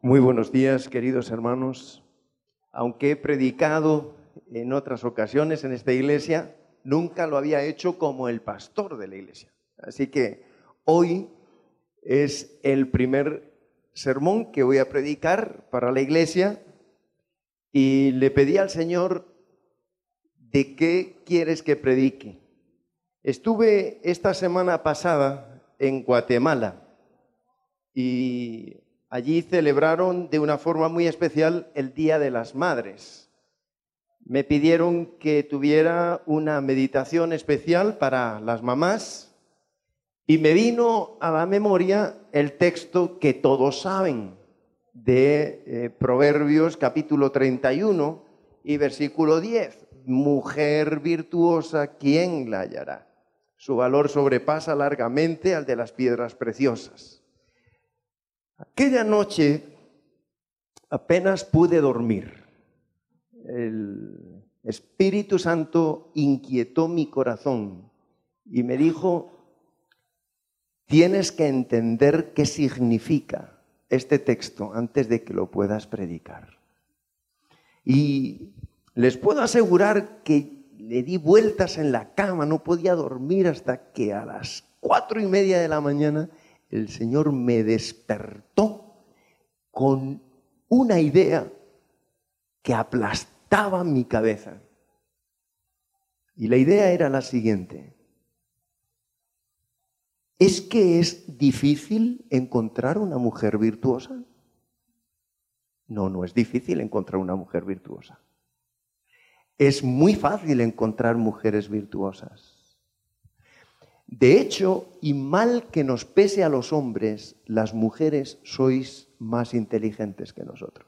Muy buenos días, queridos hermanos. Aunque he predicado en otras ocasiones en esta iglesia, nunca lo había hecho como el pastor de la iglesia. Así que hoy es el primer sermón que voy a predicar para la iglesia y le pedí al Señor: ¿de qué quieres que predique? Estuve esta semana pasada en Guatemala y allí celebraron de una forma muy especial el Día de las Madres. Me pidieron que tuviera una meditación especial para las mamás y me vino a la memoria el texto que todos saben de Proverbios capítulo 31 y versículo 10. Mujer virtuosa, ¿quién la hallará? Su valor sobrepasa largamente al de las piedras preciosas. Aquella noche apenas pude dormir. El Espíritu Santo inquietó mi corazón y me dijo: tienes que entender qué significa este texto antes de que lo puedas predicar. Y les puedo asegurar que le di vueltas en la cama, no podía dormir hasta que a las 4:30 de la mañana el Señor me despertó con una idea que aplastaba mi cabeza. Y la idea era la siguiente: ¿es que es difícil encontrar una mujer virtuosa? No, no es difícil encontrar una mujer virtuosa. Es muy fácil encontrar mujeres virtuosas. De hecho, y mal que nos pese a los hombres, las mujeres sois más inteligentes que nosotros.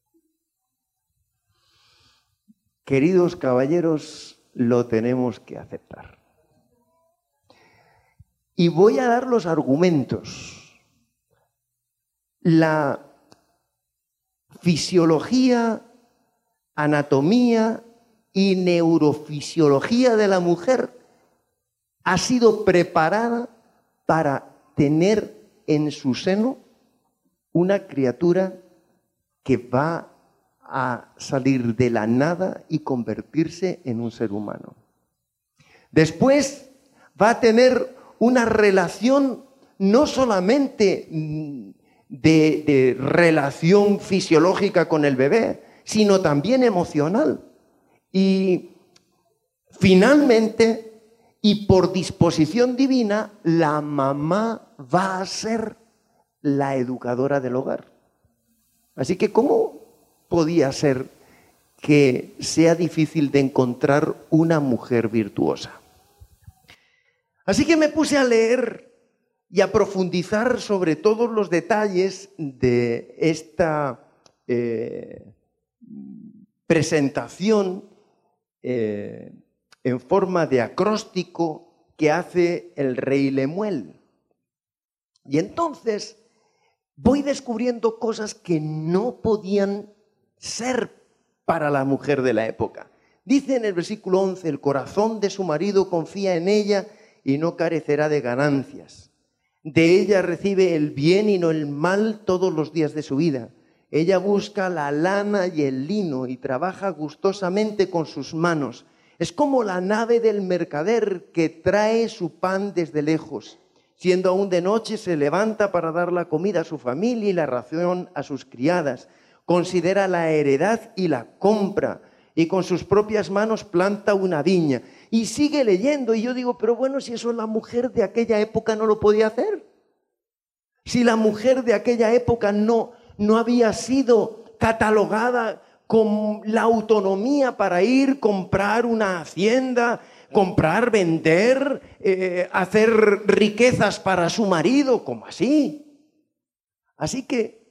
Queridos caballeros, lo tenemos que aceptar. Y voy a dar los argumentos. La fisiología, anatomía y neurofisiología de la mujer ha sido preparada para tener en su seno una criatura que va a salir de la nada y convertirse en un ser humano. Después va a tener una relación no solamente de relación fisiológica con el bebé, sino también emocional. Y finalmente, y por disposición divina, la mamá va a ser la educadora del hogar. Así que, ¿cómo podía ser que sea difícil de encontrar una mujer virtuosa? Así que me puse a leer y a profundizar sobre todos los detalles de esta presentación en forma de acróstico que hace el rey Lemuel. Y entonces voy descubriendo cosas que no podían ser para la mujer de la época. Dice en el versículo 11: el corazón de su marido confía en ella y no carecerá de ganancias. De ella recibe el bien y no el mal todos los días de su vida. Ella busca la lana y el lino y trabaja gustosamente con sus manos. Es como la nave del mercader que trae su pan desde lejos. Siendo aún de noche, se levanta para dar la comida a su familia y la ración a sus criadas. Considera la heredad y la compra, y con sus propias manos planta una viña. Y sigue leyendo, y yo digo, pero bueno, si eso la mujer de aquella época no lo podía hacer. Si la mujer de aquella época no había sido catalogada con la autonomía para ir, comprar una hacienda, comprar, vender, hacer riquezas para su marido, ¿cómo así? Así que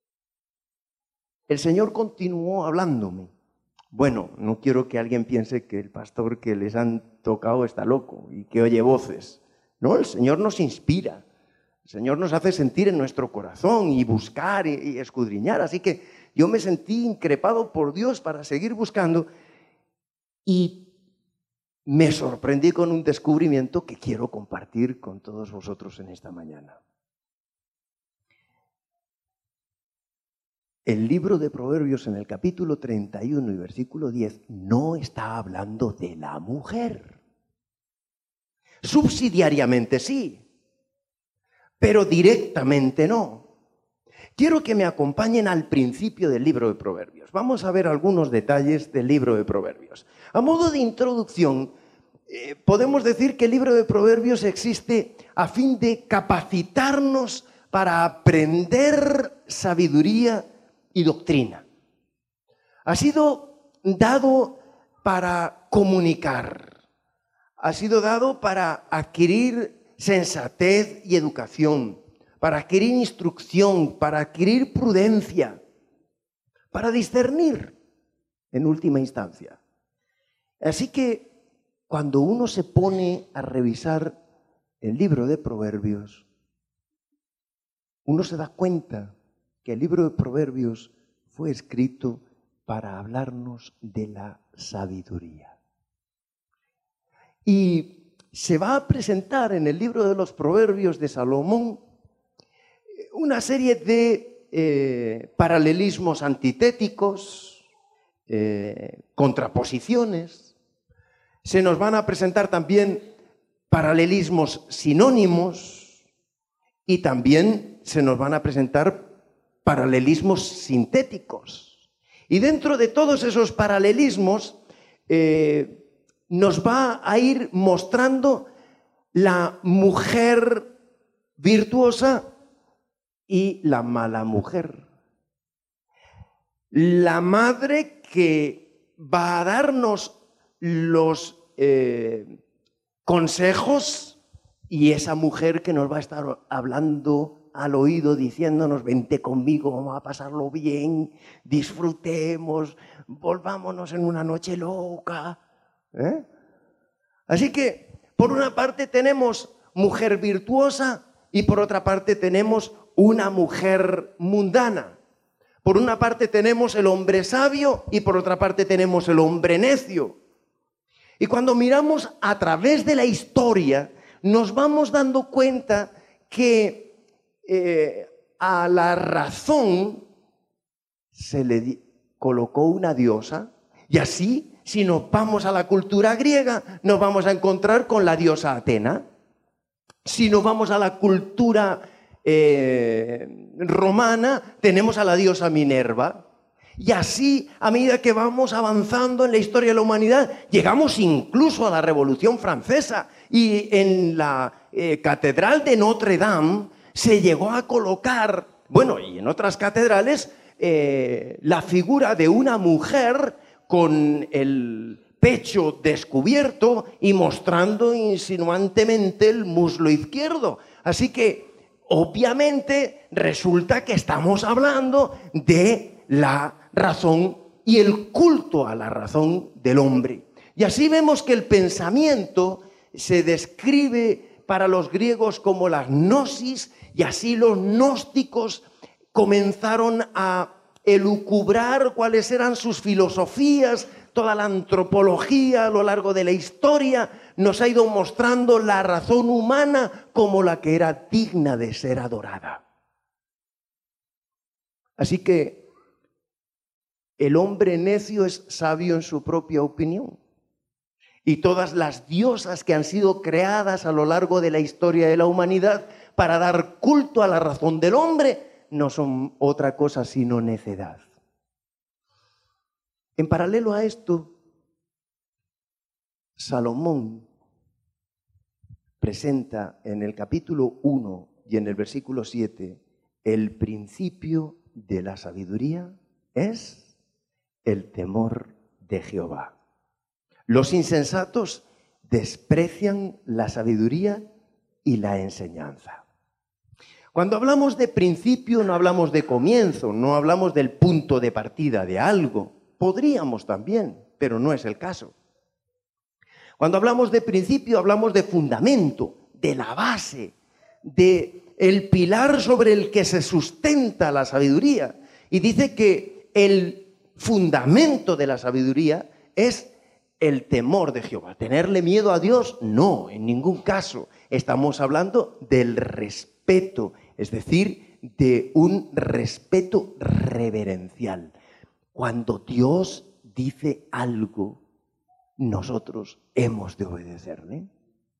el Señor continuó hablándome. Bueno, no quiero que alguien piense que el pastor que les han tocado está loco y que oye voces. No, el Señor nos inspira. El Señor nos hace sentir en nuestro corazón y buscar y escudriñar. Así que yo me sentí increpado por Dios para seguir buscando y me sorprendí con un descubrimiento que quiero compartir con todos vosotros en esta mañana. el libro de Proverbios en el capítulo 31 y versículo 10 no está hablando de la mujer. Subsidiariamente sí, pero directamente no. Quiero que me acompañen al principio del libro de Proverbios. Vamos a ver algunos detalles del libro de Proverbios. A modo de introducción, podemos decir que el libro de Proverbios existe a fin de capacitarnos para aprender sabiduría y doctrina. Ha sido dado para comunicar. Ha sido dado para adquirir sensatez y educación, para adquirir instrucción, para adquirir prudencia, para discernir en última instancia. Así que cuando uno se pone a revisar el libro de Proverbios, uno se da cuenta que el libro de Proverbios fue escrito para hablarnos de la sabiduría. Y se va a presentar en el libro de los Proverbios de Salomón una serie de paralelismos antitéticos, contraposiciones. Se nos van a presentar también paralelismos sinónimos y también se nos van a presentar paralelismos sintéticos. Y dentro de todos esos paralelismos nos va a ir mostrando la mujer virtuosa y la mala mujer. La madre que va a darnos los consejos y esa mujer que nos va a estar hablando al oído, diciéndonos: vente conmigo, vamos a pasarlo bien, disfrutemos, volvámonos en una noche loca. Así que, por una parte tenemos mujer virtuosa y por otra parte tenemos una mujer mundana. Por una parte tenemos el hombre sabio y por otra parte tenemos el hombre necio. Y cuando miramos a través de la historia, nos vamos dando cuenta que a la razón se le colocó una diosa, y así, si nos vamos a la cultura griega, nos vamos a encontrar con la diosa Atena. Si nos vamos a la cultura romana, tenemos a la diosa Minerva. Y así, a medida que vamos avanzando en la historia de la humanidad, llegamos incluso a la Revolución Francesa. Y en la Catedral de Notre Dame se llegó a colocar, bueno, y en otras catedrales, la figura de una mujer con el pecho descubierto y mostrando insinuantemente el muslo izquierdo. Así que, obviamente, resulta que estamos hablando de la razón y el culto a la razón del hombre. Y así vemos que el pensamiento se describe para los griegos como la gnosis, y así los gnósticos comenzaron a elucubrar cuáles eran sus filosofías. Toda la antropología a lo largo de la historia nos ha ido mostrando la razón humana como la que era digna de ser adorada. Así que el hombre necio es sabio en su propia opinión. Y todas las diosas que han sido creadas a lo largo de la historia de la humanidad para dar culto a la razón del hombre no son otra cosa sino necedad. En paralelo a esto, Salomón presenta en el capítulo 1 y en el versículo 7 el principio de la sabiduría es el temor de Jehová. Los insensatos desprecian la sabiduría y la enseñanza. Cuando hablamos de principio no hablamos de comienzo, no hablamos del punto de partida de algo. Podríamos también, pero no es el caso. Cuando hablamos de principio hablamos de fundamento, de la base, de el pilar sobre el que se sustenta la sabiduría. Y dice que el fundamento de la sabiduría es el temor de Jehová. ¿Tenerle miedo a Dios? No, en ningún caso. Estamos hablando del respeto, es decir, de un respeto reverencial. Cuando Dios dice algo, nosotros hemos de obedecerle.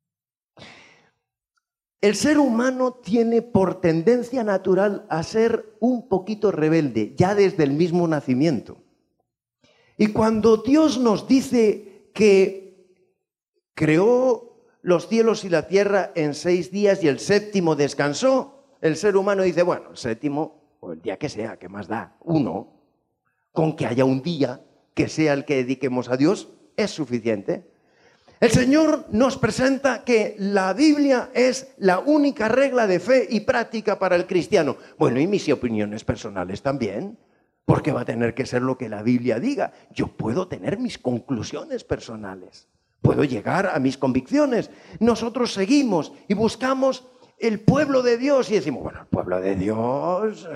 El ser humano tiene por tendencia natural a ser un poquito rebelde, ya desde el mismo nacimiento. Y cuando Dios nos dice que creó los cielos y la tierra en 6 días y el séptimo descansó, el ser humano dice, bueno, el séptimo, o el día que sea, ¿qué más da? Uno, con que haya un día que sea el que dediquemos a Dios, es suficiente. El Señor nos presenta que la Biblia es la única regla de fe y práctica para el cristiano. Bueno, y mis opiniones personales también, porque va a tener que ser lo que la Biblia diga. Yo puedo tener mis conclusiones personales, puedo llegar a mis convicciones. Nosotros seguimos y buscamos el pueblo de Dios y decimos, bueno, el pueblo de Dios,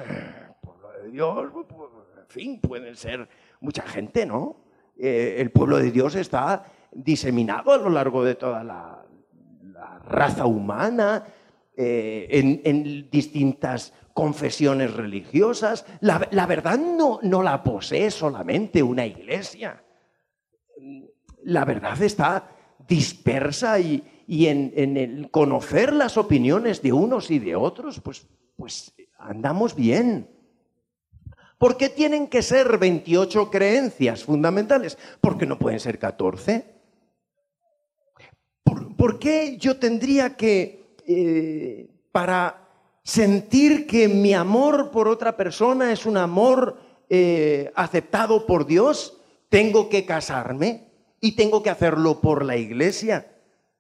en fin, pueden ser mucha gente, ¿no? El pueblo de Dios está diseminado a lo largo de toda la raza humana, en distintas confesiones religiosas. La verdad no la posee solamente una iglesia. La verdad está dispersa y en el conocer las opiniones de unos y de otros, pues andamos bien. ¿Por qué tienen que ser 28 creencias fundamentales? ¿Por qué no pueden ser 14? ¿Por qué yo tendría que, para sentir que mi amor por otra persona es un amor aceptado por Dios, tengo que casarme y tengo que hacerlo por la iglesia?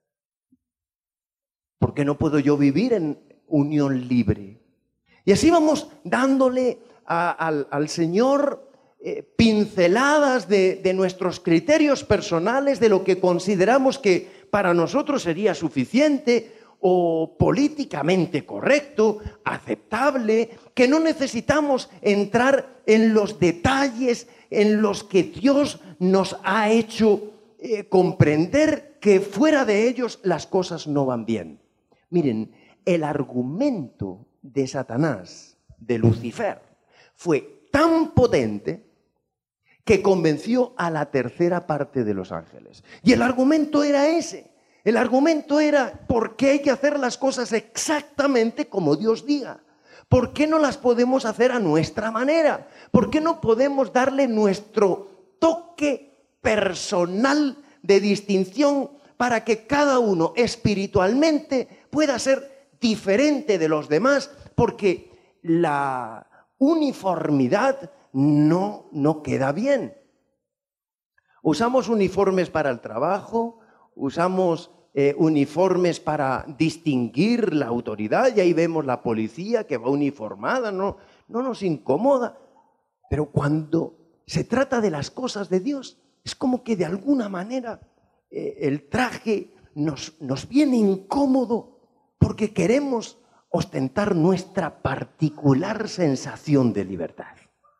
¿Por qué no puedo yo vivir en unión libre? Y así vamos dándole al Señor pinceladas de nuestros criterios personales, de lo que consideramos que para nosotros sería suficiente o políticamente correcto, aceptable, que no necesitamos entrar en los detalles en los que Dios nos ha hecho comprender que fuera de ellos las cosas no van bien. Miren, el argumento de Satanás, de Lucifer, fue tan potente que convenció a la tercera parte de los ángeles. Y el argumento era ese. El argumento era, ¿por qué hay que hacer las cosas exactamente como Dios diga? ¿Por qué no las podemos hacer a nuestra manera? ¿Por qué no podemos darle nuestro toque personal de distinción para que cada uno espiritualmente pueda ser diferente de los demás? Porque la uniformidad no queda bien. Usamos uniformes para el trabajo, usamos uniformes para distinguir la autoridad, y ahí vemos la policía que va uniformada, no nos incomoda. Pero cuando se trata de las cosas de Dios, es como que de alguna manera el traje nos viene incómodo porque queremos ostentar nuestra particular sensación de libertad.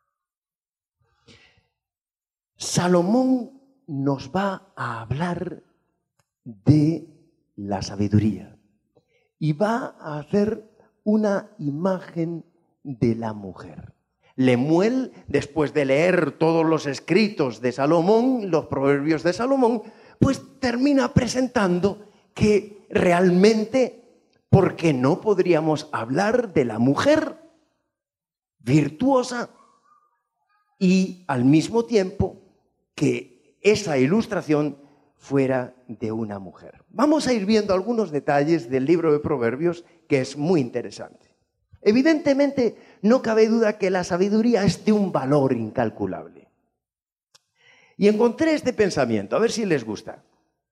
Salomón nos va a hablar de la sabiduría y va a hacer una imagen de la mujer. Lemuel, después de leer todos los escritos de Salomón, los proverbios de Salomón, pues termina presentando que realmente, ¿por qué no podríamos hablar de la mujer virtuosa y al mismo tiempo que esa ilustración fuera de una mujer? Vamos a ir viendo algunos detalles del libro de Proverbios, que es muy interesante. Evidentemente, no cabe duda que la sabiduría es de un valor incalculable. Y encontré este pensamiento, a ver si les gusta.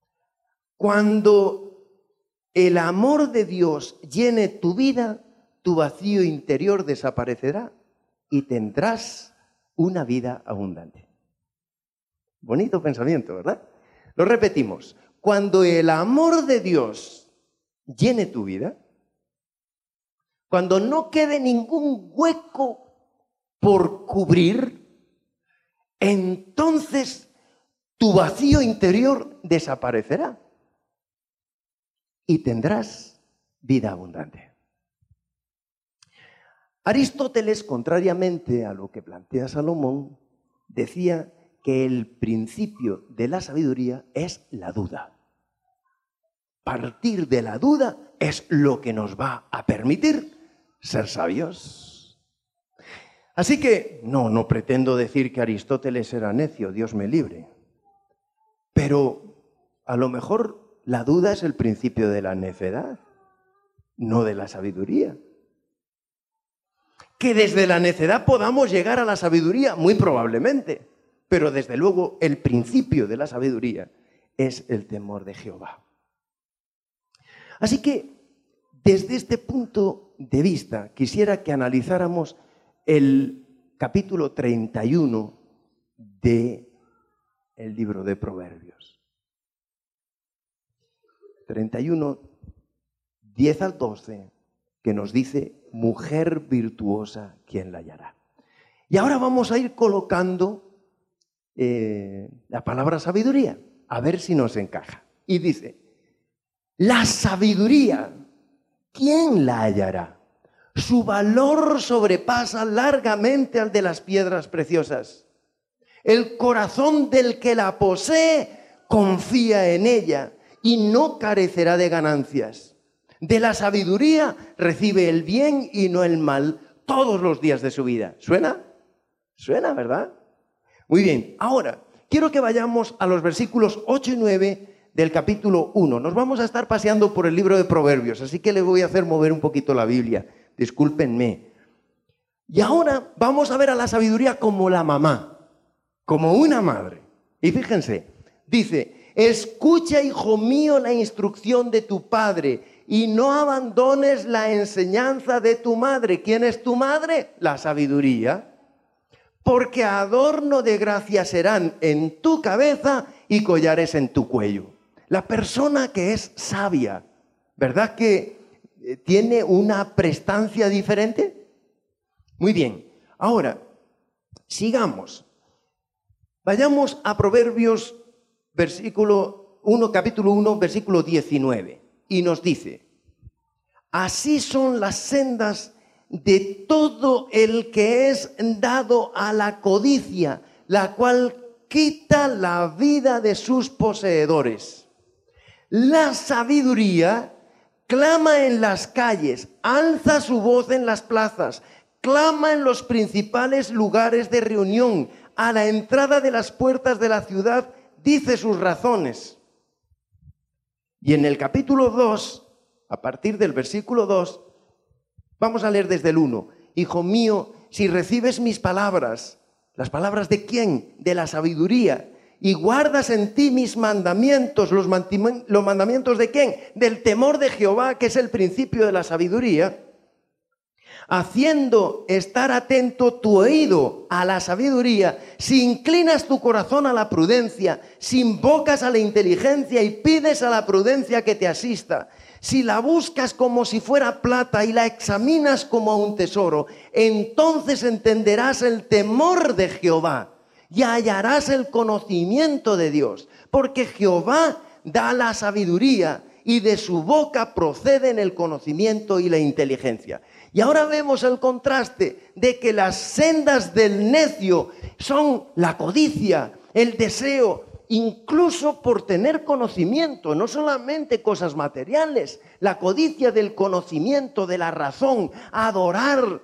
Cuando el amor de Dios llene tu vida, tu vacío interior desaparecerá y tendrás una vida abundante. Bonito pensamiento, ¿verdad? Lo repetimos. Cuando el amor de Dios llene tu vida, cuando no quede ningún hueco por cubrir, entonces tu vacío interior desaparecerá y tendrás vida abundante. Aristóteles, contrariamente a lo que plantea Salomón, decía que el principio de la sabiduría es la duda. Partir de la duda es lo que nos va a permitir ser sabios. Así que no pretendo decir que Aristóteles era necio, Dios me libre. Pero a lo mejor la duda es el principio de la necedad, no de la sabiduría. Que desde la necedad podamos llegar a la sabiduría, muy probablemente. Pero desde luego el principio de la sabiduría es el temor de Jehová. Así que desde este punto de vista quisiera que analizáramos el capítulo 31 del libro de Proverbios. 31, 10 al 12, que nos dice: mujer virtuosa, ¿quién la hallará? Y ahora vamos a ir colocando la palabra sabiduría, a ver si nos encaja. Y dice: la sabiduría, ¿quién la hallará? Su valor sobrepasa largamente al de las piedras preciosas. El corazón del que la posee confía en ella y no carecerá de ganancias. De la sabiduría recibe el bien y no el mal todos los días de su vida. ¿Suena? Suena, ¿verdad? Muy bien, ahora quiero que vayamos a los versículos 8 y 9 del capítulo 1. Nos vamos a estar paseando por el libro de Proverbios, así que le voy a hacer mover un poquito la Biblia. Discúlpenme. Y ahora vamos a ver a la sabiduría como la mamá, como una madre. Y fíjense, dice: escucha, hijo mío, la instrucción de tu padre y no abandones la enseñanza de tu madre. ¿Quién es tu madre? La sabiduría. Porque adorno de gracia serán en tu cabeza y collares en tu cuello. La persona que es sabia, ¿verdad que tiene una prestancia diferente? Muy bien, ahora, sigamos. Vayamos a Proverbios, capítulo 1, versículo 19. Y nos dice: así son las sendas de todo el que es dado a la codicia, la cual quita la vida de sus poseedores. La sabiduría clama en las calles, alza su voz en las plazas, clama en los principales lugares de reunión, a la entrada de las puertas de la ciudad, dice sus razones. Y en el capítulo 2, a partir del versículo 2, vamos a leer desde el 1. Hijo mío, si recibes mis palabras, ¿las palabras de quién? De la sabiduría. Y guardas en ti mis mandamientos. ¿Los mandamientos de quién? Del temor de Jehová, que es el principio de la sabiduría. Haciendo estar atento tu oído a la sabiduría, si inclinas tu corazón a la prudencia, si invocas a la inteligencia y pides a la prudencia que te asista, si la buscas como si fuera plata y la examinas como a un tesoro, entonces entenderás el temor de Jehová y hallarás el conocimiento de Dios, porque Jehová da la sabiduría y de su boca proceden el conocimiento y la inteligencia. Y ahora vemos el contraste de que las sendas del necio son la codicia, el deseo, incluso por tener conocimiento, no solamente cosas materiales, la codicia del conocimiento, de la razón, adorar,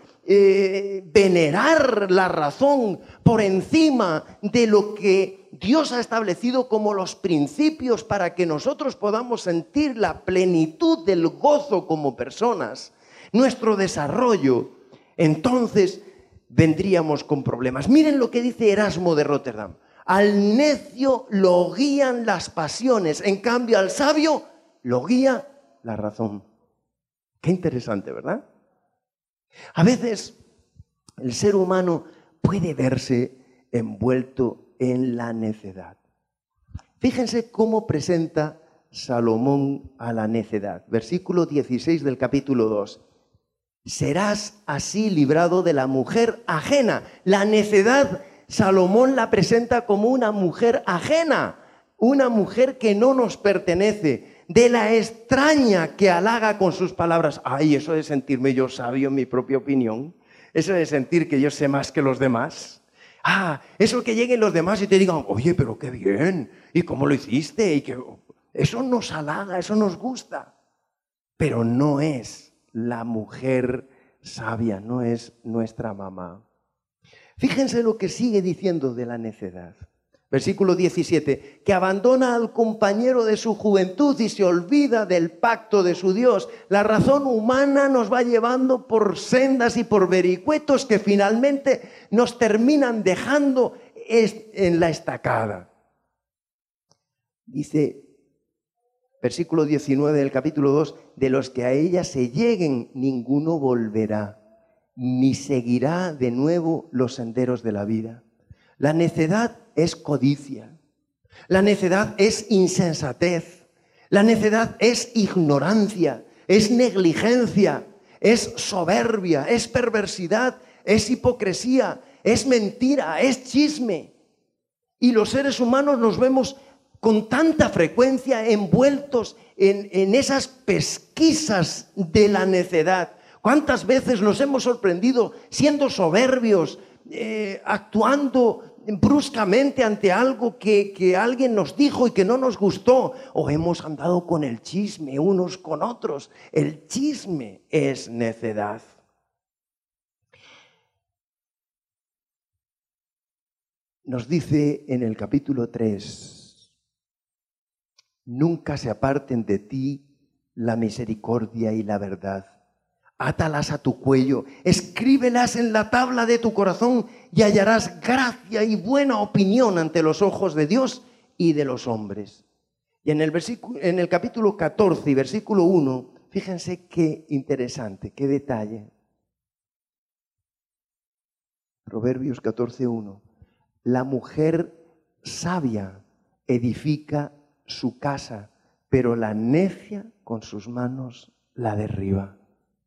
venerar la razón por encima de lo que Dios ha establecido como los principios para que nosotros podamos sentir la plenitud del gozo como personas, nuestro desarrollo. Entonces vendríamos con problemas. Miren lo que dice Erasmo de Rotterdam: al necio lo guían las pasiones, en cambio al sabio lo guía la razón. Qué interesante, ¿verdad? A veces el ser humano puede verse envuelto en la necedad. Fíjense cómo presenta Salomón a la necedad. Versículo 16 del capítulo 2. Serás así librado de la mujer ajena. La necedad, Salomón la presenta como una mujer ajena, una mujer que no nos pertenece, de la extraña que halaga con sus palabras. Ay, eso de sentirme yo sabio en mi propia opinión. Eso de sentir que yo sé más que los demás. Eso que lleguen los demás y te digan, oye, pero qué bien, ¿y cómo lo hiciste? Eso nos halaga, eso nos gusta. Pero no es la mujer sabia, no es nuestra mamá. Fíjense lo que sigue diciendo de la necedad. Versículo 17, que abandona al compañero de su juventud y se olvida del pacto de su Dios. La razón humana nos va llevando por sendas y por vericuetos que finalmente nos terminan dejando en la estacada. Dice, versículo 19 del capítulo 2, de los que a ella se lleguen, ninguno volverá, ni seguirá de nuevo los senderos de la vida. La necedad es codicia, la necedad es insensatez, la necedad es ignorancia, es negligencia, es soberbia, es perversidad, es hipocresía, es mentira, es chisme. Y los seres humanos nos vemos con tanta frecuencia envueltos en esas pesquisas de la necedad. ¿Cuántas veces nos hemos sorprendido siendo soberbios, actuando bruscamente ante algo que alguien nos dijo y que no nos gustó? O hemos andado con el chisme unos con otros. El chisme es necedad. Nos dice en el capítulo 3, nunca se aparten de ti la misericordia y la verdad. Átalas a tu cuello, escríbelas en la tabla de tu corazón y hallarás gracia y buena opinión ante los ojos de Dios y de los hombres. Y en el capítulo 14 y versículo 1, fíjense qué interesante, qué detalle. Proverbios 14:1. La mujer sabia edifica su casa, pero la necia con sus manos la derriba.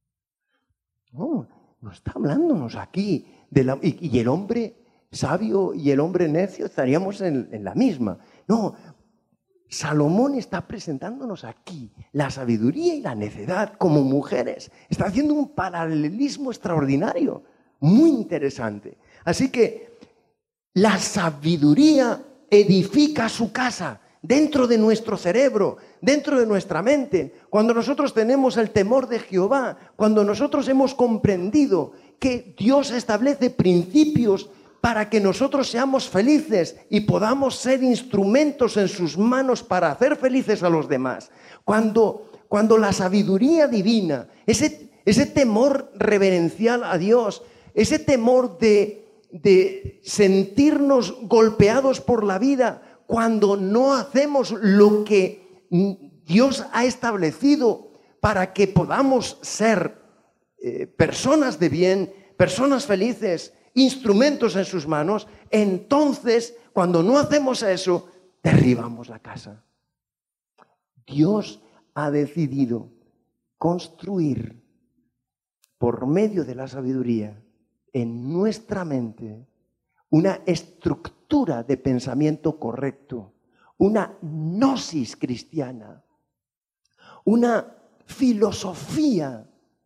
No está hablándonos aquí y el hombre sabio y el hombre necio estaríamos en la misma. No, Salomón está presentándonos aquí la sabiduría y la necedad como mujeres. Está haciendo un paralelismo extraordinario, muy interesante. Así que la sabiduría edifica su casa dentro de nuestro cerebro, dentro de nuestra mente. Cuando nosotros tenemos el temor de Jehová, cuando nosotros hemos comprendido que Dios establece principios para que nosotros seamos felices y podamos ser instrumentos en sus manos para hacer felices a los demás. Cuando la sabiduría divina, ese temor reverencial a Dios, ese temor de sentirnos golpeados por la vida, cuando no hacemos lo que Dios ha establecido para que podamos ser personas de bien, personas felices, instrumentos en sus manos, entonces, cuando no hacemos eso, derribamos la casa. Dios ha decidido construir por medio de la sabiduría en nuestra mente una estructura de pensamiento correcto, una gnosis cristiana, una filosofía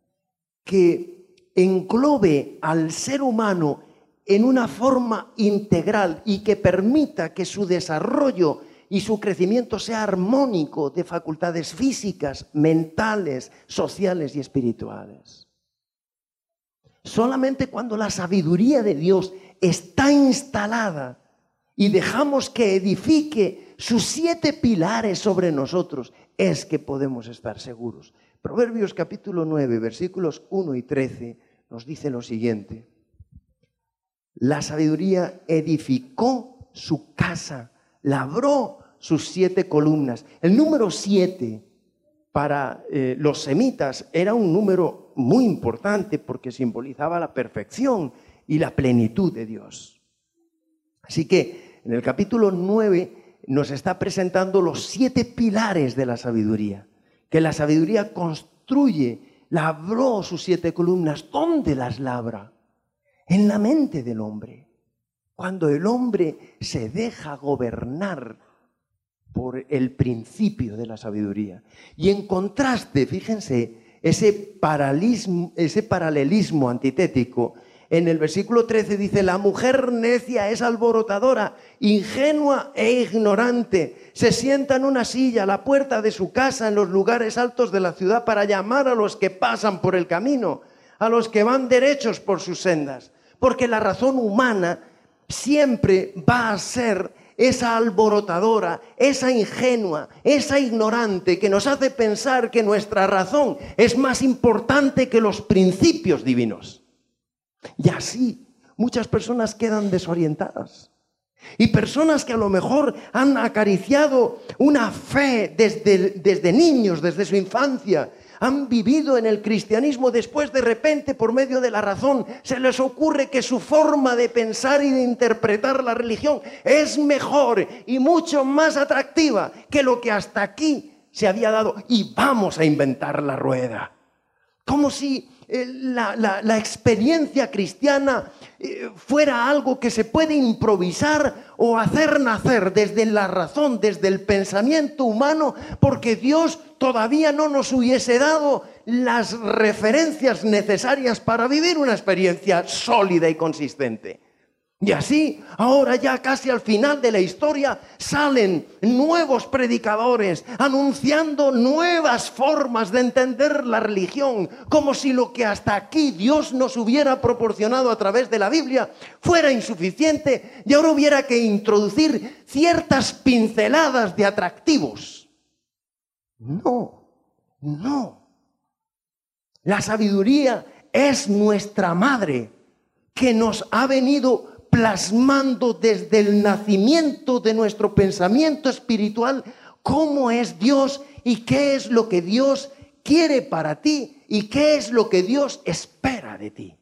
que englobe al ser humano en una forma integral y que permita que su desarrollo y su crecimiento sea armónico de facultades físicas, mentales, sociales y espirituales. Solamente cuando la sabiduría de Dios está instalada y dejamos que edifique sus 7 pilares sobre nosotros, es que podemos estar seguros. Proverbios capítulo 9, versículos 1 y 13 nos dice lo siguiente: la sabiduría edificó su casa, labró sus 7 columnas. El número 7 para los semitas era un número muy importante porque simbolizaba la perfección y la plenitud de Dios. Así que en el capítulo 9 nos está presentando los 7 pilares de la sabiduría, que la sabiduría construye, labró sus 7 columnas. ¿Dónde las labra? En la mente del hombre. Cuando el hombre se deja gobernar por el principio de la sabiduría. Y en contraste, fíjense, ese paralelismo antitético En el versículo 13 dice, la mujer necia es alborotadora, ingenua e ignorante. Se sienta en una silla a la puerta de su casa en los lugares altos de la ciudad para llamar a los que pasan por el camino, a los que van derechos por sus sendas. Porque la razón humana siempre va a ser esa alborotadora, esa ingenua, esa ignorante que nos hace pensar que nuestra razón es más importante que los principios divinos. Y así muchas personas quedan desorientadas. Y personas que a lo mejor han acariciado una fe desde niños, desde su infancia, han vivido en el cristianismo, después de repente por medio de la razón se les ocurre que su forma de pensar y de interpretar la religión es mejor y mucho más atractiva que lo que hasta aquí se había dado, y vamos a inventar la rueda. Como si la experiencia cristiana fuera algo que se puede improvisar o hacer nacer desde la razón, desde el pensamiento humano, porque Dios todavía no nos hubiese dado las referencias necesarias para vivir una experiencia sólida y consistente. Y así, ahora ya casi al final de la historia, salen nuevos predicadores anunciando nuevas formas de entender la religión, como si lo que hasta aquí Dios nos hubiera proporcionado a través de la Biblia fuera insuficiente y ahora hubiera que introducir ciertas pinceladas de atractivos. No. La sabiduría es nuestra madre que nos ha venido plasmando desde el nacimiento de nuestro pensamiento espiritual cómo es Dios y qué es lo que Dios quiere para ti y qué es lo que Dios espera de ti.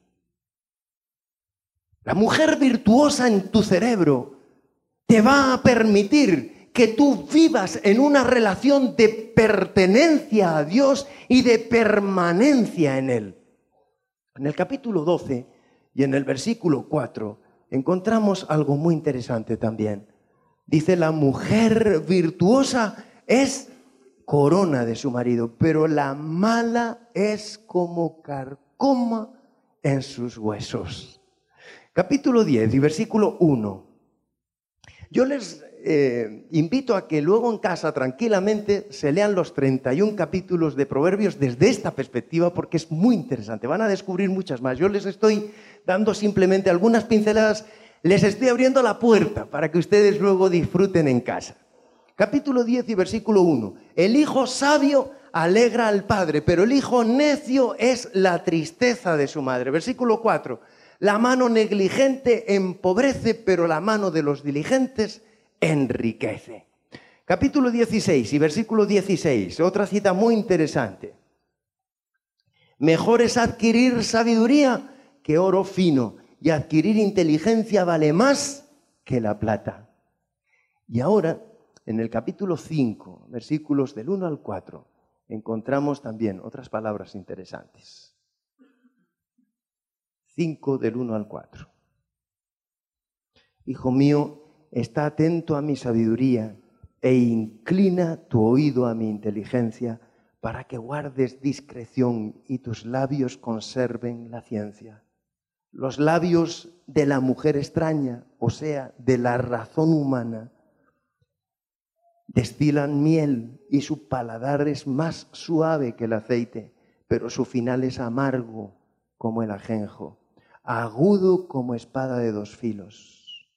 La mujer virtuosa en tu cerebro te va a permitir que tú vivas en una relación de pertenencia a Dios y de permanencia en Él. En el capítulo 12 y en el versículo 4 encontramos algo muy interesante también. Dice, la mujer virtuosa es corona de su marido, pero la mala es como carcoma en sus huesos. Capítulo 10 y versículo 1. Yo les invito a que luego en casa tranquilamente se lean los 31 capítulos de Proverbios desde esta perspectiva, porque es muy interesante. Van a descubrir muchas más. Yo les estoy dando simplemente algunas pinceladas, les estoy abriendo la puerta para que ustedes luego disfruten en casa. Capítulo 10 y versículo 1. El hijo sabio alegra al padre, pero el hijo necio es la tristeza de su madre. Versículo 4. La mano negligente empobrece, pero la mano de los diligentes enriquece. Capítulo 16 y versículo 16, otra cita muy interesante. Mejor es adquirir sabiduría que oro fino, y adquirir inteligencia vale más que la plata. Y ahora, en el capítulo 5, versículos del 1 al 4, encontramos también otras palabras interesantes. 5 del 1 al 4. Hijo mío, está atento a mi sabiduría e inclina tu oído a mi inteligencia para que guardes discreción y tus labios conserven la ciencia. Los labios de la mujer extraña, o sea, de la razón humana, destilan miel y su paladar es más suave que el aceite, pero su final es amargo como el ajenjo, agudo como espada de dos filos.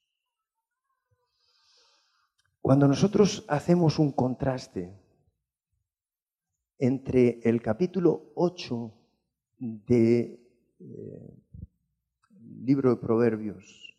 Cuando nosotros hacemos un contraste entre el capítulo 8 del libro de Proverbios,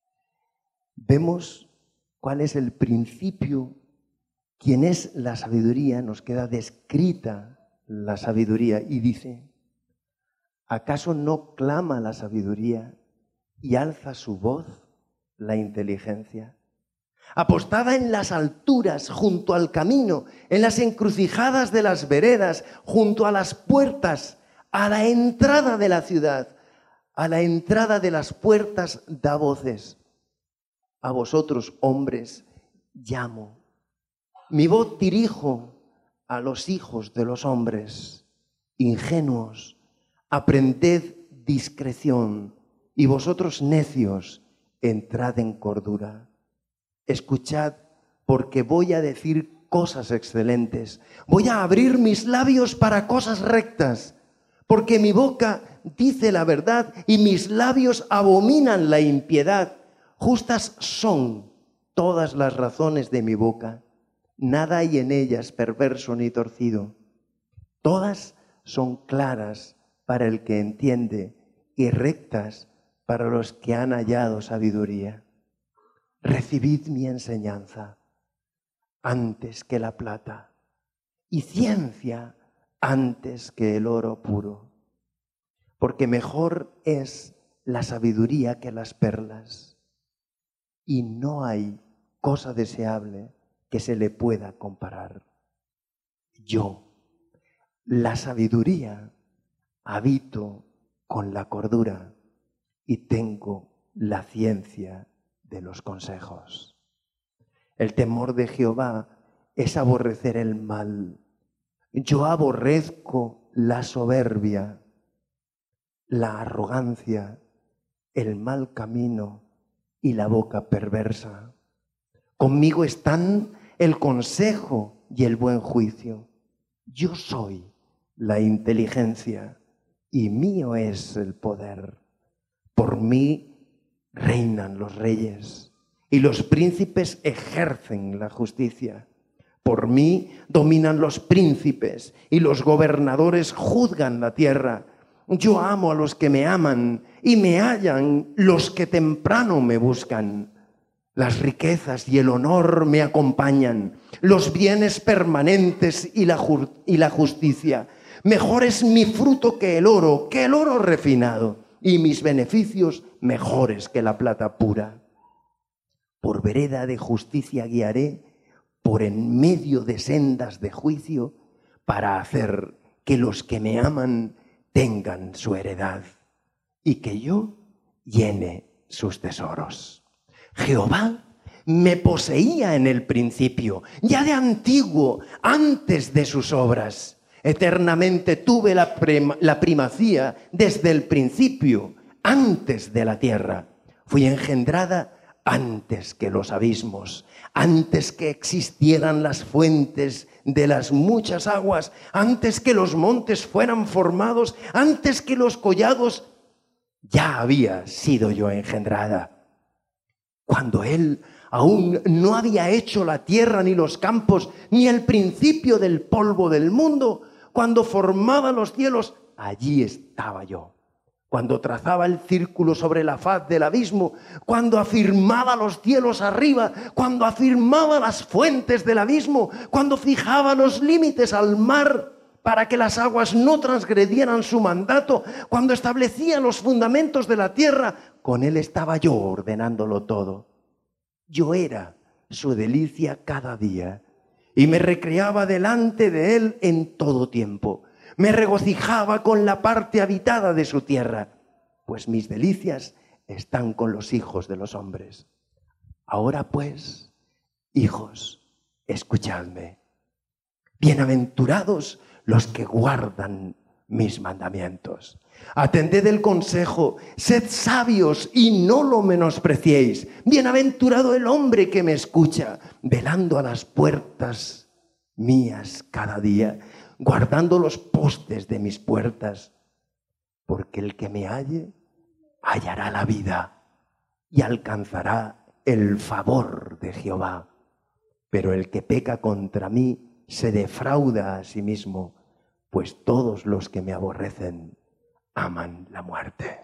vemos cuál es el principio, quién es la sabiduría, nos queda descrita la sabiduría y dice, ¿acaso no clama la sabiduría y alza su voz la inteligencia? Apostada en las alturas, junto al camino, en las encrucijadas de las veredas, junto a las puertas, a la entrada de la ciudad, a la entrada de las puertas da voces. A vosotros, hombres, llamo. Mi voz dirijo a los hijos de los hombres. Ingenuos, aprended discreción y vosotros necios, entrad en cordura. Escuchad, porque voy a decir cosas excelentes. Voy a abrir mis labios para cosas rectas, porque mi boca dice la verdad y mis labios abominan la impiedad. Justas son todas las razones de mi boca. Nada hay en ellas perverso ni torcido. Todas son claras para el que entiende y rectas para los que han hallado sabiduría. Recibid mi enseñanza antes que la plata y ciencia antes que el oro puro, porque mejor es la sabiduría que las perlas, y no hay cosa deseable que se le pueda comparar. Yo, la sabiduría, habito con la cordura y tengo la ciencia de los consejos. El temor de Jehová es aborrecer el mal. Yo aborrezco la soberbia, la arrogancia, el mal camino y la boca perversa. Conmigo están el consejo y el buen juicio. Yo soy la inteligencia y mío es el poder. Por mí reinan los reyes y los príncipes ejercen la justicia. Por mí dominan los príncipes y los gobernadores juzgan la tierra. Yo amo a los que me aman y me hallan los que temprano me buscan. Las riquezas y el honor me acompañan, los bienes permanentes y la justicia. Mejor es mi fruto que el oro refinado, y mis beneficios mejores que la plata pura. Por vereda de justicia guiaré, por en medio de sendas de juicio, para hacer que los que me aman tengan su heredad y que yo llene sus tesoros. Jehová me poseía en el principio, ya de antiguo, antes de sus obras. Eternamente tuve la primacía desde el principio, antes de la tierra. Fui engendrada antes que los abismos, antes que existieran las fuentes de las muchas aguas, antes que los montes fueran formados, antes que los collados, ya había sido yo engendrada. Cuando Él aún no había hecho la tierra ni los campos, ni el principio del polvo del mundo, cuando formaba los cielos, allí estaba yo. Cuando trazaba el círculo sobre la faz del abismo, cuando afirmaba los cielos arriba, cuando afirmaba las fuentes del abismo, cuando fijaba los límites al mar para que las aguas no transgredieran su mandato, cuando establecía los fundamentos de la tierra, con Él estaba yo ordenándolo todo. Yo era su delicia cada día y me recreaba delante de Él en todo tiempo. Me regocijaba con la parte habitada de su tierra, pues mis delicias están con los hijos de los hombres. Ahora pues, hijos, escuchadme. Bienaventurados los que guardan mis mandamientos. Atended el consejo, sed sabios y no lo menospreciéis. Bienaventurado el hombre que me escucha, velando a las puertas mías cada día, guardando los postes de mis puertas, porque el que me halle hallará la vida y alcanzará el favor de Jehová. Pero el que peca contra mí se defrauda a sí mismo, pues todos los que me aborrecen aman la muerte.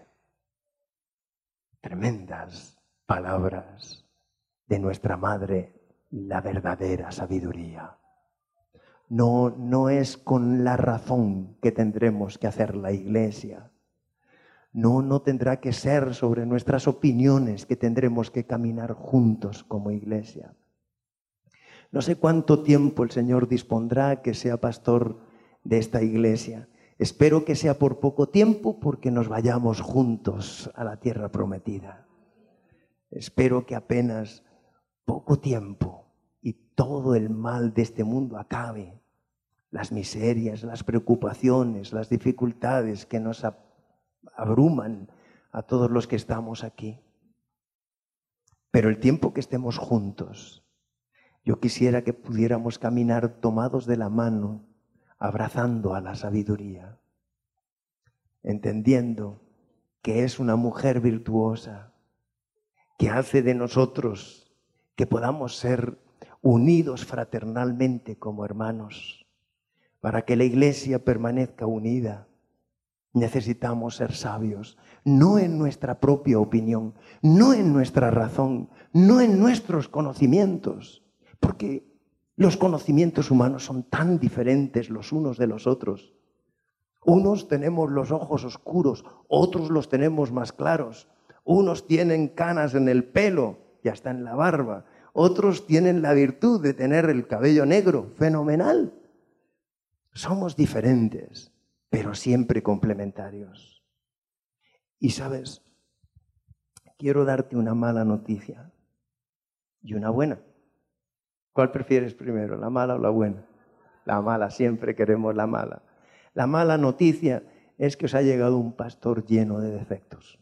Tremendas palabras de nuestra Madre, la verdadera sabiduría. No es con la razón que tendremos que hacer la Iglesia. No tendrá que ser sobre nuestras opiniones que tendremos que caminar juntos como Iglesia. No sé cuánto tiempo el Señor dispondrá que sea pastor de esta Iglesia. Espero que sea por poco tiempo, porque nos vayamos juntos a la tierra prometida. Espero que apenas poco tiempo y todo el mal de este mundo acabe. Las miserias, las preocupaciones, las dificultades que nos abruman a todos los que estamos aquí. Pero el tiempo que estemos juntos, yo quisiera que pudiéramos caminar tomados de la mano, abrazando a la sabiduría, entendiendo que es una mujer virtuosa, que hace de nosotros que podamos ser unidos fraternalmente como hermanos. Para que la iglesia permanezca unida, necesitamos ser sabios, no en nuestra propia opinión, no en nuestra razón, no en nuestros conocimientos, porque los conocimientos humanos son tan diferentes los unos de los otros. Unos tenemos los ojos oscuros, otros los tenemos más claros. Unos tienen canas en el pelo y hasta en la barba. Otros tienen la virtud de tener el cabello negro. Fenomenal. Somos diferentes, pero siempre complementarios. Y sabes, quiero darte una mala noticia y una buena. ¿Cuál prefieres primero, la mala o la buena? La mala, siempre queremos la mala. La mala noticia es que os ha llegado un pastor lleno de defectos.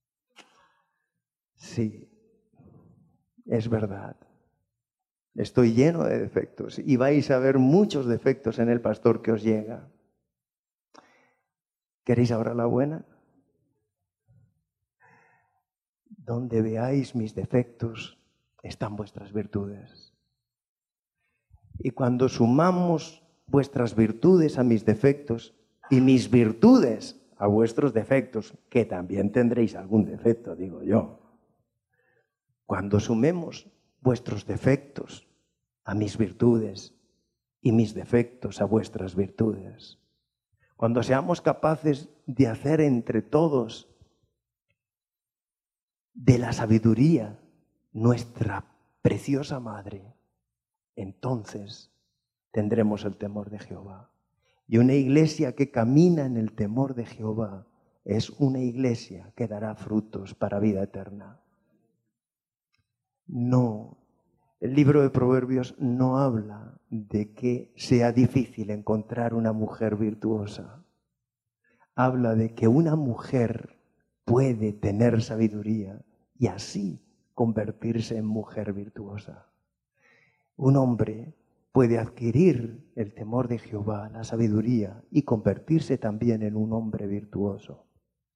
Sí, es verdad. Estoy lleno de defectos y vais a ver muchos defectos en el pastor que os llega. ¿Queréis ahora la buena? Donde veáis mis defectos están vuestras virtudes. Y cuando sumamos vuestras virtudes a mis defectos y mis virtudes a vuestros defectos, que también tendréis algún defecto, digo yo. Cuando sumemos vuestros defectos a mis virtudes y mis defectos a vuestras virtudes, cuando seamos capaces de hacer entre todos de la sabiduría nuestra preciosa madre, entonces tendremos el temor de Jehová. Y una iglesia que camina en el temor de Jehová es una iglesia que dará frutos para vida eterna. No, el libro de Proverbios no habla de que sea difícil encontrar una mujer virtuosa. Habla de que una mujer puede tener sabiduría y así convertirse en mujer virtuosa. Un hombre puede adquirir el temor de Jehová, la sabiduría, y convertirse también en un hombre virtuoso.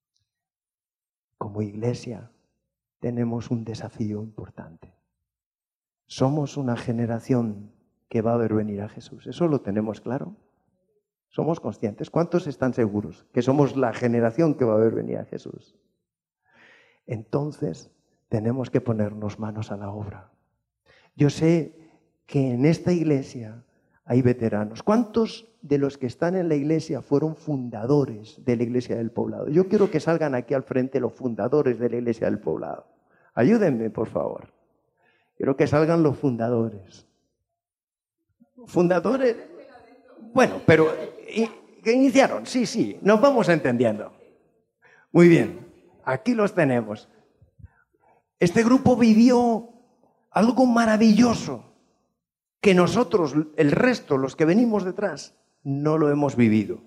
Como iglesia tenemos un desafío importante. Somos una generación que va a ver venir a Jesús. ¿Eso lo tenemos claro? ¿Somos conscientes? ¿Cuántos están seguros que somos la generación que va a ver venir a Jesús? Entonces tenemos que ponernos manos a la obra. Yo sé que en esta iglesia hay veteranos. ¿Cuántos de los que están en la iglesia fueron fundadores de la iglesia del Poblado? Yo quiero que salgan aquí al frente los fundadores de la iglesia del Poblado. Ayúdenme, por favor. Quiero que salgan los fundadores. ¿Fundadores? Bueno, pero ¿qué iniciaron? Sí, nos vamos entendiendo. Muy bien, aquí los tenemos. Este grupo vivió algo maravilloso que nosotros, el resto, los que venimos detrás, no lo hemos vivido.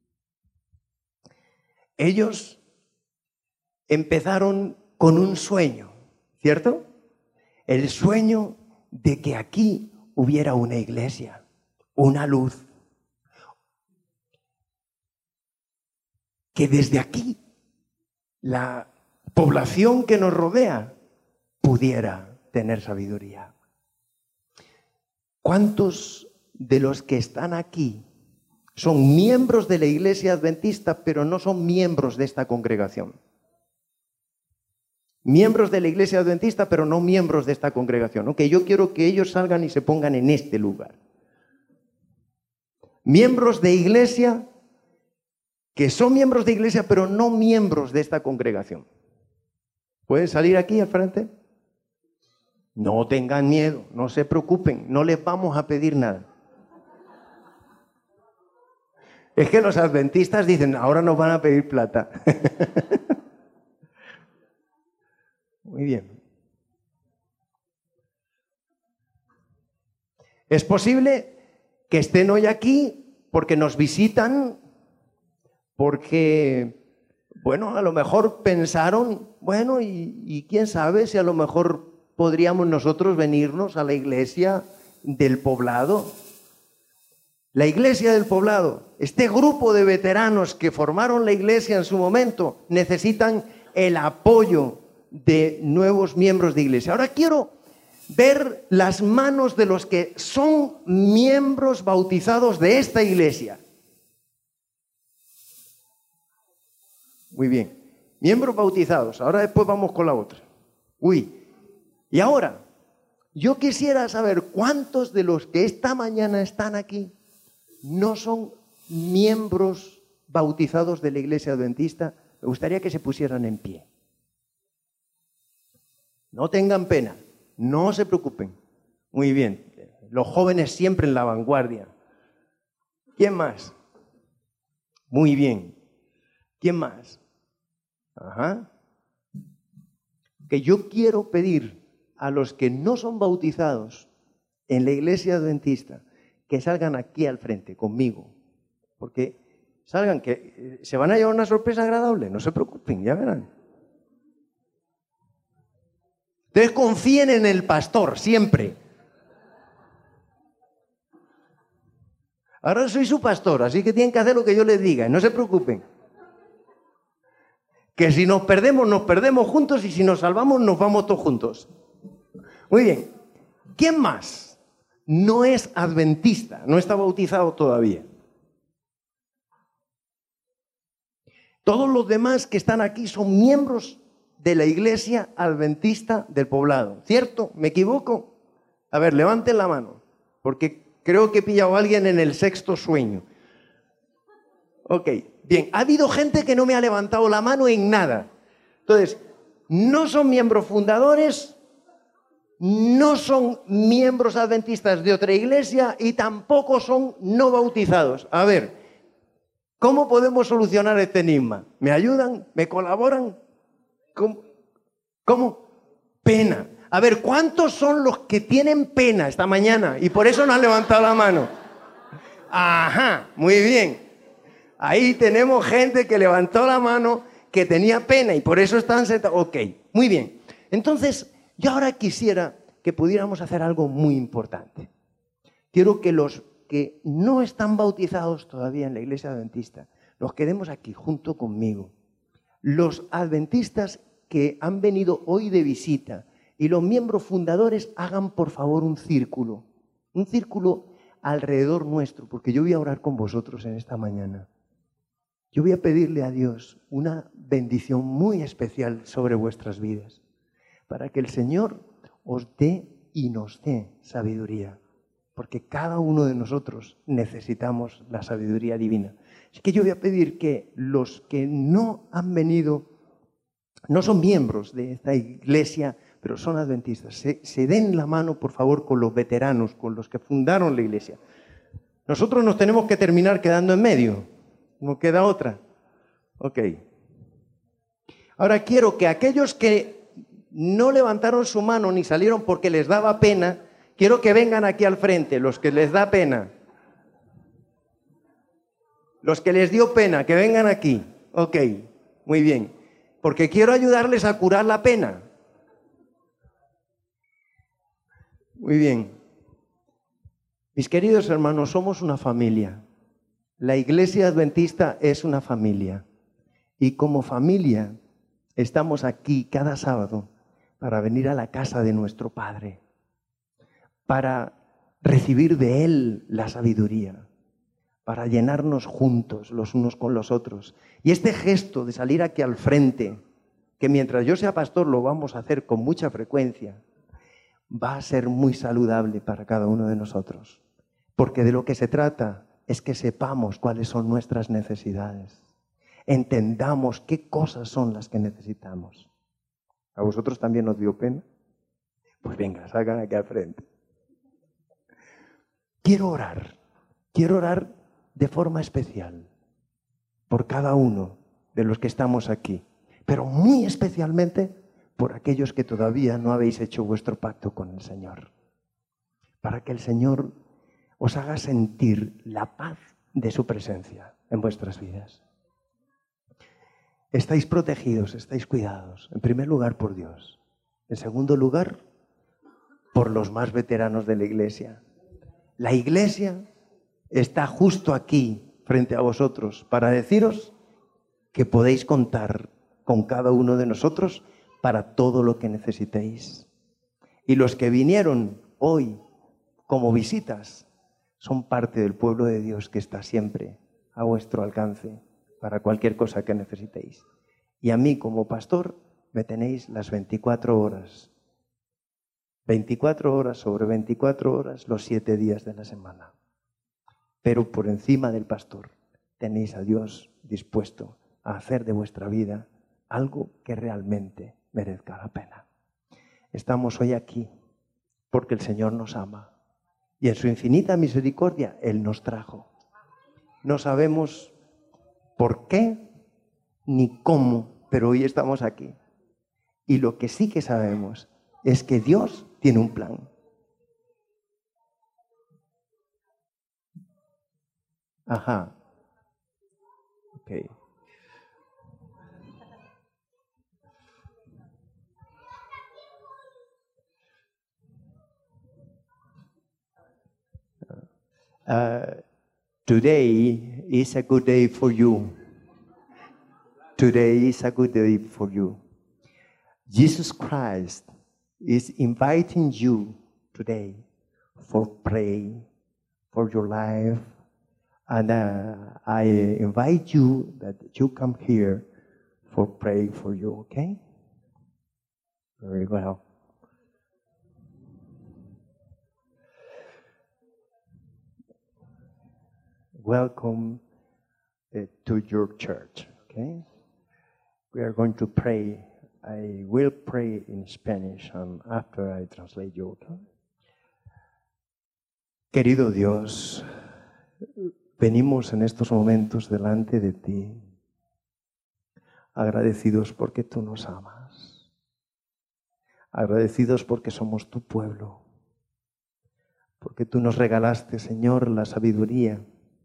Ellos empezaron con un sueño, ¿cierto? El sueño de que aquí hubiera una iglesia, una luz, que desde aquí la población que nos rodea pudiera tener sabiduría. ¿Cuántos de los que están aquí son miembros de la Iglesia Adventista, pero no son miembros de esta congregación? Miembros de la Iglesia Adventista, pero no miembros de esta congregación. Ok, yo quiero que ellos salgan y se pongan en este lugar. Miembros de iglesia, que son miembros de iglesia, pero no miembros de esta congregación. ¿Pueden salir aquí al frente? No tengan miedo, no se preocupen, no les vamos a pedir nada. Es que los adventistas dicen, ahora nos van a pedir plata. Muy bien. Es posible que estén hoy aquí porque nos visitan, porque Bueno, a lo mejor pensaron, bueno, y quién sabe si a lo mejor podríamos nosotros venirnos a la iglesia del poblado. La iglesia del poblado, este grupo de veteranos que formaron la iglesia en su momento, necesitan el apoyo de nuevos miembros de iglesia. Ahora quiero ver las manos de los que son miembros bautizados de esta iglesia. Muy bien, miembros bautizados. Ahora después vamos con la otra. Y ahora, yo quisiera saber cuántos de los que esta mañana están aquí no son miembros bautizados de la iglesia adventista. Me gustaría que se pusieran en pie. No tengan pena, no se preocupen. Muy bien, los jóvenes siempre en la vanguardia. ¿Quién más? Muy bien. ¿Quién más? Ajá. Que yo quiero pedir a los que no son bautizados en la iglesia adventista que salgan aquí al frente conmigo, porque salgan, que se van a llevar una sorpresa agradable, no se preocupen, ya verán. Ustedes confíen en el pastor, siempre. Ahora soy su pastor, así que tienen que hacer lo que yo les diga, no se preocupen. Que si nos perdemos juntos, y si nos salvamos, nos vamos todos juntos. Muy bien. ¿Quién más no es adventista, no está bautizado todavía? Todos los demás que están aquí son miembros de la iglesia adventista del poblado, ¿cierto? ¿Me equivoco? A ver, levanten la mano, porque creo que he pillado a alguien en el sexto sueño. Ok, bien, ha habido gente que no me ha levantado la mano en nada. Entonces, no son miembros fundadores, no son miembros adventistas de otra iglesia y tampoco son no bautizados. A ver, ¿cómo podemos solucionar este enigma? ¿Me ayudan? ¿Me colaboran? ¿Cómo? Pena. A ver, ¿cuántos son los que tienen pena esta mañana y por eso no han levantado la mano? Ajá, muy bien. Ahí tenemos gente que levantó la mano, que tenía pena y por eso están sentados. Ok, muy bien. Entonces, yo ahora quisiera que pudiéramos hacer algo muy importante. Quiero que los que no están bautizados todavía en la iglesia adventista, los quedemos aquí junto conmigo. Los adventistas que han venido hoy de visita y los miembros fundadores hagan por favor un círculo alrededor nuestro, porque yo voy a orar con vosotros en esta mañana. Yo voy a pedirle a Dios una bendición muy especial sobre vuestras vidas, para que el Señor os dé y nos dé sabiduría, porque cada uno de nosotros necesitamos la sabiduría divina. Así que yo voy a pedir que los que no han venido, no son miembros de esta iglesia, pero son adventistas, se den la mano, por favor, con los veteranos, con los que fundaron la iglesia. Nosotros nos tenemos que terminar quedando en medio. ¿No queda otra? Ok. Ahora quiero que aquellos que no levantaron su mano ni salieron porque les daba pena, quiero que vengan aquí al frente, los que les da pena. Los que les dio pena, que vengan aquí. Ok, muy bien. Porque quiero ayudarles a curar la pena. Muy bien. Mis queridos hermanos, somos una familia. La iglesia adventista es una familia y como familia estamos aquí cada sábado para venir a la casa de nuestro Padre, para recibir de Él la sabiduría, para llenarnos juntos los unos con los otros. Y este gesto de salir aquí al frente, que mientras yo sea pastor lo vamos a hacer con mucha frecuencia, va a ser muy saludable para cada uno de nosotros, porque de lo que se trata es que sepamos cuáles son nuestras necesidades. Entendamos qué cosas son las que necesitamos. ¿A vosotros también os dio pena? Pues venga, salgan aquí al frente. Quiero orar de forma especial por cada uno de los que estamos aquí, pero muy especialmente por aquellos que todavía no habéis hecho vuestro pacto con el Señor, para que el Señor os haga sentir la paz de su presencia en vuestras vidas. estáis protegidos, estáis cuidados. En primer lugar, por Dios. En segundo lugar, por los más veteranos de la iglesia. La iglesia está justo aquí, frente a vosotros, para deciros que podéis contar con cada uno de nosotros para todo lo que necesitéis. Y los que vinieron hoy como visitas son parte del pueblo de Dios que está siempre a vuestro alcance para cualquier cosa que necesitéis. Y a mí como pastor me tenéis las 24 horas. 24 horas sobre 24 horas los 7 días de la semana. Pero por encima del pastor tenéis a Dios dispuesto a hacer de vuestra vida algo que realmente merezca la pena. Estamos hoy aquí porque el Señor nos ama y en su infinita misericordia Él nos trajo. No sabemos por qué ni cómo, pero hoy estamos aquí. Y lo que sí que sabemos es que Dios tiene un plan. Ajá. Ok. Today is a good day for you. Today is a good day for you. Jesus Christ is inviting you today for pray for your life. And I invite you that you come here for pray for you, okay? Very well. Welcome to your church, okay? We are going to pray. I will pray in Spanish and after I translate you, okay? Querido Dios, venimos en estos momentos delante de ti, agradecidos porque tú nos amas, agradecidos porque somos tu pueblo, porque tú nos regalaste, Señor, la sabiduría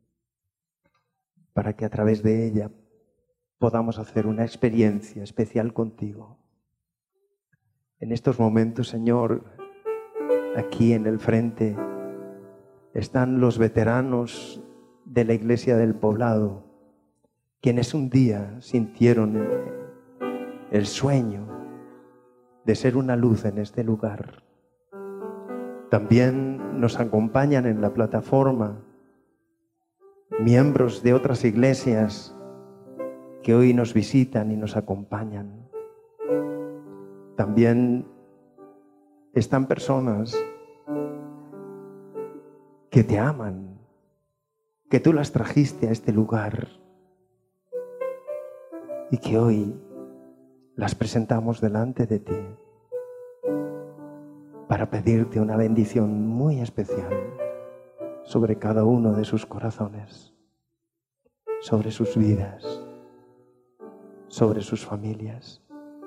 para que a través de ella podamos hacer una experiencia especial contigo. En estos momentos, Señor, aquí en el frente están los veteranos de la Iglesia del Poblado, quienes un día sintieron el sueño de ser una luz en este lugar. También nos acompañan en la plataforma miembros de otras iglesias que hoy nos visitan y nos acompañan. También están personas que te aman, que tú las trajiste a este lugar y que hoy las presentamos delante de ti para pedirte una bendición muy especial sobre cada uno de sus corazones, sobre sus vidas, sobre sus familias.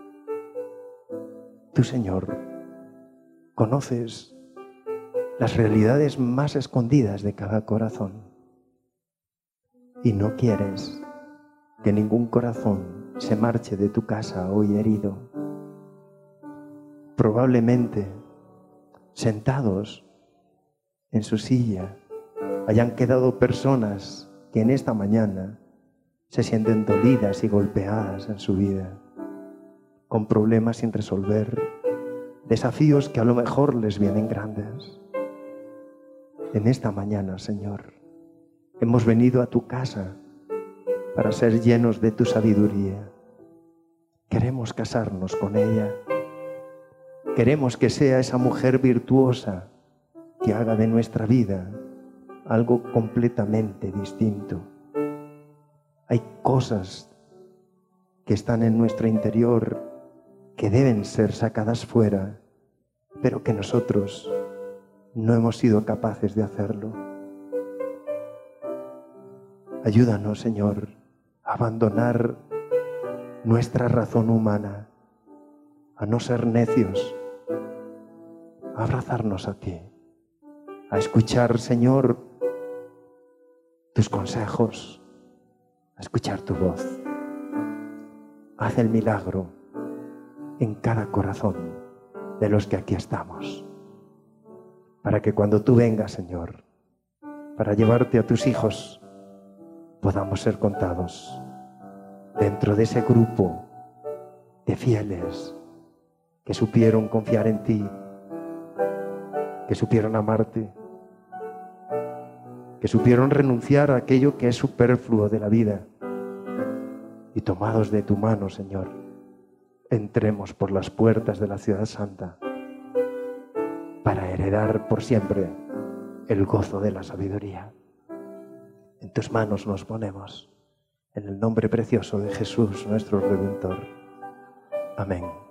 Tú, Señor, conoces las realidades más escondidas de cada corazón y no quieres que ningún corazón se marche de tu casa hoy herido. Probablemente sentados en su silla hayan quedado personas que en esta mañana se sienten dolidas y golpeadas en su vida, con problemas sin resolver, desafíos que a lo mejor les vienen grandes. En esta mañana, Señor, hemos venido a tu casa para ser llenos de tu sabiduría. Queremos casarnos con ella. Queremos que sea esa mujer virtuosa que haga de nuestra vida algo completamente distinto. Hay cosas que están en nuestro interior que deben ser sacadas fuera, pero que nosotros no hemos sido capaces de hacerlo. Ayúdanos, Señor, a abandonar nuestra razón humana, a no ser necios, a abrazarnos a ti, a escuchar, Señor, tus consejos, a escuchar tu voz. haz el milagro en cada corazón de los que aquí estamos, para que cuando tú vengas, Señor, para llevarte a tus hijos, podamos ser contados dentro de ese grupo de fieles que supieron confiar en ti, que supieron amarte, que supieron renunciar a aquello que es superfluo de la vida, y tomados de tu mano, Señor, entremos por las puertas de la ciudad santa para heredar por siempre el gozo de la sabiduría. En tus manos nos ponemos, en el nombre precioso de Jesús, nuestro Redentor. Amén.